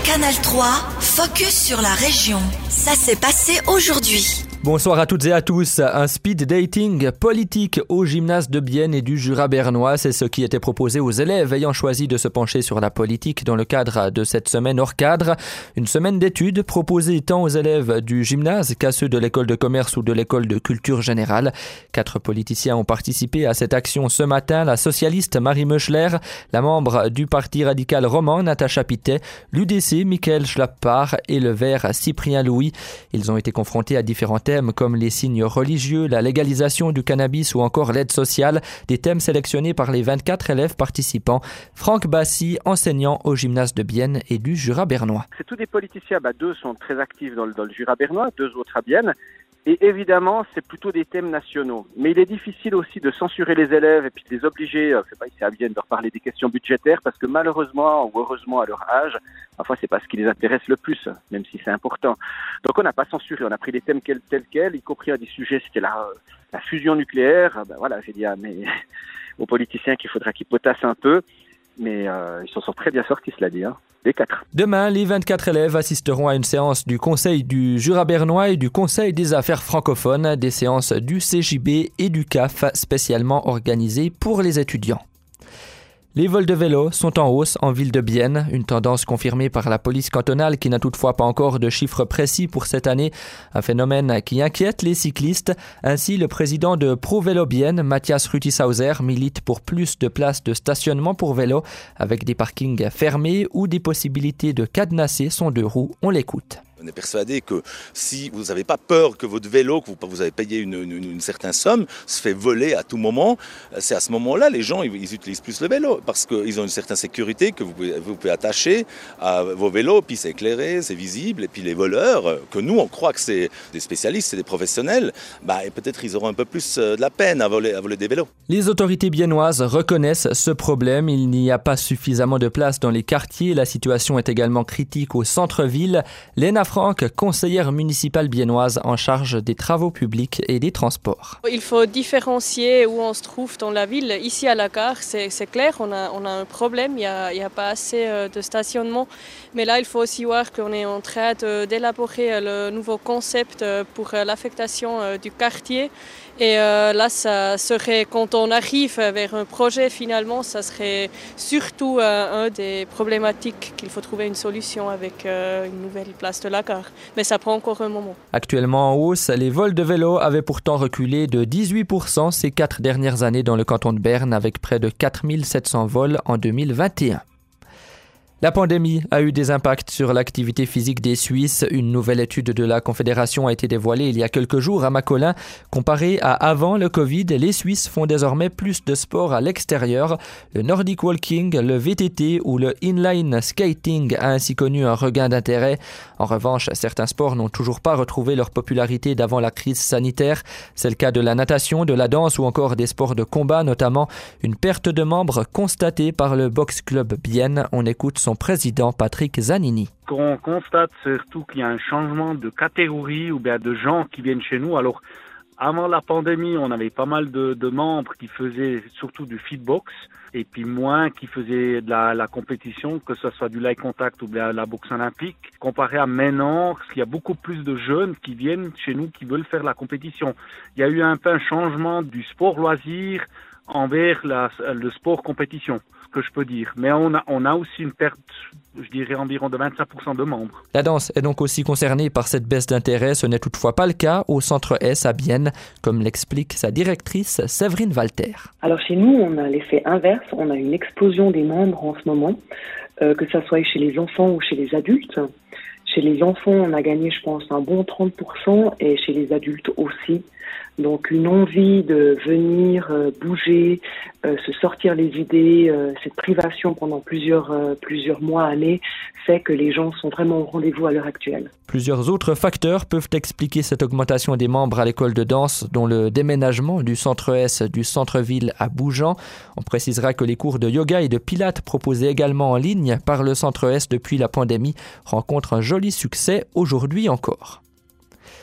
Canal 3, focus sur la région. Ça s'est passé aujourd'hui. Bonsoir à toutes et à tous. Un speed dating politique au gymnase de Bienne et du Jura bernois, c'est ce qui était proposé aux élèves ayant choisi de se pencher sur la politique dans le cadre de cette semaine hors cadre. Une semaine d'études proposée tant aux élèves du gymnase qu'à ceux de l'école de commerce ou de l'école de culture générale. 4 politiciens ont participé à cette action ce matin. La socialiste Marie Meuchler, la membre du parti radical roman Natacha Pittet, l'UDC Michael Schlappard et le Vert Cyprien Louis. Ils ont été confrontés à différents thèmes comme les signes religieux, la légalisation du cannabis ou encore l'aide sociale, des thèmes sélectionnés par les 24 élèves participants. Franck Bassi, enseignant au gymnase de Bienne et du Jura bernois. C'est tous des politiciens, 2 sont très actifs dans le Jura bernois, 2 autres à Bienne. Et évidemment, c'est plutôt des thèmes nationaux. Mais il est difficile aussi de censurer les élèves et puis de les obliger, c'est pas ici à Bienne, de reparler des questions budgétaires parce que malheureusement ou heureusement à leur âge, parfois c'est pas ce qui les intéresse le plus, même si c'est important. Donc on n'a pas censuré, on a pris les thèmes tels quels, y compris à des sujets, c'était la fusion nucléaire. Voilà, j'ai dit mais aux politiciens qu'il faudra qu'ils potassent un peu. Mais ils s'en sont très bien sortis, cela dit, les 4. Demain, les 24 élèves assisteront à une séance du Conseil du Jura bernois et du Conseil des affaires francophones, des séances du CJB et du CAF spécialement organisées pour les étudiants. Les vols de vélo sont en hausse en ville de Bienne, une tendance confirmée par la police cantonale qui n'a toutefois pas encore de chiffres précis pour cette année, un phénomène qui inquiète les cyclistes. Ainsi, le président de Pro Vélo Bienne, Mathias Rütisauser, milite pour plus de places de stationnement pour vélo avec des parkings fermés ou des possibilités de cadenasser son 2 roues. On l'écoute. On est persuadé que si vous n'avez pas peur que votre vélo, que vous avez payé une certaine somme, se fait voler à tout moment, c'est à ce moment-là, les gens ils utilisent plus le vélo parce qu'ils ont une certaine sécurité que vous pouvez attacher à vos vélos, puis c'est éclairé, c'est visible, et puis les voleurs, que nous on croit que c'est des spécialistes, c'est des professionnels, et peut-être ils auront un peu plus de la peine à voler des vélos. Les autorités biennoises reconnaissent ce problème, il n'y a pas suffisamment de place dans les quartiers, la situation est également critique au centre-ville. Léna Franck, conseillère municipale biennoise en charge des travaux publics et des transports. Il faut différencier où on se trouve dans la ville. Ici à la gare, c'est clair, on a un problème, il n'y a pas assez de stationnement. Mais là, il faut aussi voir qu'on est en train d'élaborer le nouveau concept pour l'affectation du quartier. Et là, ça serait, quand on arrive vers un projet, finalement, ça serait surtout un des problématiques qu'il faut trouver une solution avec une nouvelle place de la gare. Mais ça prend encore un moment. Actuellement en hausse, les vols de vélo avaient pourtant reculé de 18% ces 4 dernières années dans le canton de Berne, avec près de 4700 vols en 2021. La pandémie a eu des impacts sur l'activité physique des Suisses. Une nouvelle étude de la Confédération a été dévoilée il y a quelques jours à Macolin. Comparé à avant le Covid, les Suisses font désormais plus de sport à l'extérieur. Le Nordic Walking, le VTT ou le Inline Skating a ainsi connu un regain d'intérêt. En revanche, certains sports n'ont toujours pas retrouvé leur popularité d'avant la crise sanitaire. C'est le cas de la natation, de la danse ou encore des sports de combat, notamment une perte de membres constatée par le Box Club Bienne. On écoute son président Patrick Zanini. On constate surtout qu'il y a un changement de catégorie ou bien de gens qui viennent chez nous. Alors, avant la pandémie, on avait pas mal de membres qui faisaient surtout du fitbox et puis moins qui faisaient de la compétition, que ce soit du light contact ou bien la boxe olympique. Comparé à maintenant, il y a beaucoup plus de jeunes qui viennent chez nous qui veulent faire la compétition. Il y a eu un peu un changement du sport loisir envers le sport compétition, ce que je peux dire. Mais on a aussi une perte, je dirais environ de 25% de membres. La danse est donc aussi concernée par cette baisse d'intérêt. Ce n'est toutefois pas le cas au Centre S à Bienne, comme l'explique sa directrice Séverine Walter. Alors chez nous, on a l'effet inverse. On a une explosion des membres en ce moment, que ça soit chez les enfants ou chez les adultes. Chez les enfants, on a gagné, je pense, un bon 30% et chez les adultes aussi. Donc une envie de venir bouger, se sortir les idées, cette privation pendant plusieurs mois, années, fait que les gens sont vraiment au rendez-vous à l'heure actuelle. Plusieurs autres facteurs peuvent expliquer cette augmentation des membres à l'école de danse, dont le déménagement du centre S du centre-ville à Bougeant. On précisera que les cours de yoga et de pilates proposés également en ligne par le centre S depuis la pandémie rencontrent un joli succès aujourd'hui encore.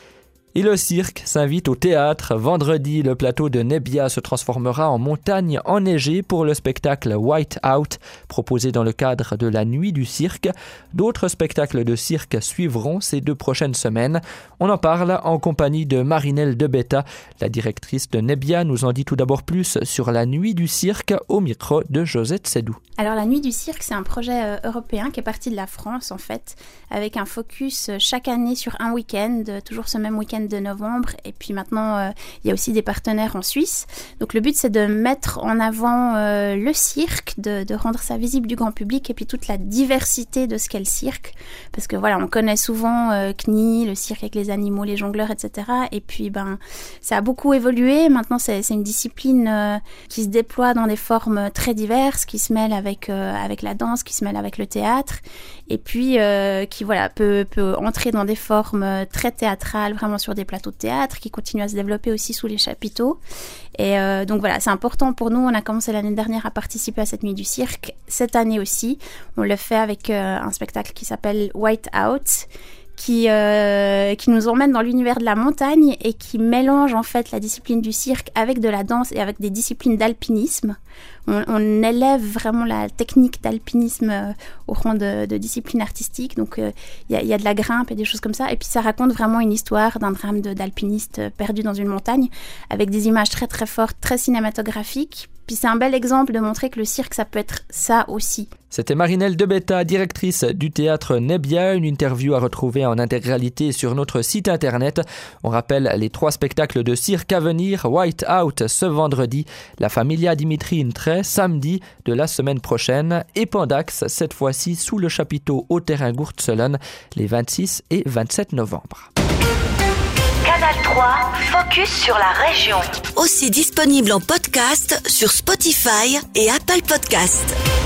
Et le cirque s'invite au théâtre. Vendredi, le plateau de Nebbia se transformera en montagne enneigée pour le spectacle White Out, proposé dans le cadre de la Nuit du cirque. D'autres spectacles de cirque suivront ces 2 prochaines semaines. On en parle en compagnie de Marinelle Debetta. La directrice de Nebbia nous en dit tout d'abord plus sur la Nuit du cirque au micro de Josette Sédou. Alors la Nuit du cirque, c'est un projet européen qui est parti de la France en fait, avec un focus chaque année sur un week-end, toujours ce même week-end de novembre, et puis maintenant il y a aussi des partenaires en Suisse. Donc le but c'est de mettre en avant le cirque, de rendre ça visible du grand public, et puis toute la diversité de ce qu'est le cirque, parce que voilà, on connaît souvent CNI, le cirque avec les animaux, les jongleurs, etc. Et puis ça a beaucoup évolué. Maintenant c'est une discipline qui se déploie dans des formes très diverses, qui se mêle avec la danse, qui se mêle avec le théâtre, et puis qui peut entrer dans des formes très théâtrales, vraiment sur des plateaux de théâtre, qui continuent à se développer aussi sous les chapiteaux. Et donc voilà, c'est important pour nous. On a commencé l'année dernière à participer à cette Nuit du cirque. Cette année aussi, on le fait avec un spectacle qui s'appelle White Out, qui nous emmène dans l'univers de la montagne et qui mélange en fait la discipline du cirque avec de la danse et avec des disciplines d'alpinisme. On élève vraiment la technique d'alpinisme au rang de discipline artistique. Donc il y a de la grimpe et des choses comme ça. Et puis ça raconte vraiment une histoire d'un drame d'alpiniste perdu dans une montagne, avec des images très très fortes, très cinématographiques. Puis c'est un bel exemple de montrer que le cirque, ça peut être ça aussi. C'était Marinelle Debetta, directrice du théâtre Nebbia. Une interview à retrouver en intégralité sur notre site internet. On rappelle les 3 spectacles de cirque à venir. White Out ce vendredi, la Familia Dimitri Intré samedi de la semaine prochaine, et Pandax cette fois-ci sous le chapiteau au terrain Gurtselon les 26 et 27 novembre. Canal 3, focus sur la région. Aussi disponible en podcast sur Spotify et Apple Podcasts.